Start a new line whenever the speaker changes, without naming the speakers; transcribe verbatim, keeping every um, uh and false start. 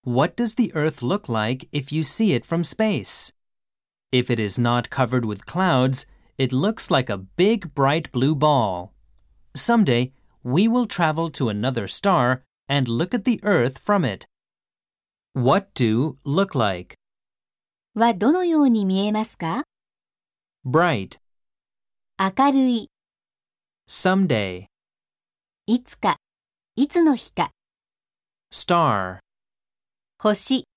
What does the Earth look like if you see it from space? If it is not covered with clouds, it looks like a big bright blue ball. Someday, we will travel to another star and look at the Earth from it. What do look like?
はどのように見えますか？
Bright,
明るい、
someday,
いつか、いつの日か、
star.
星。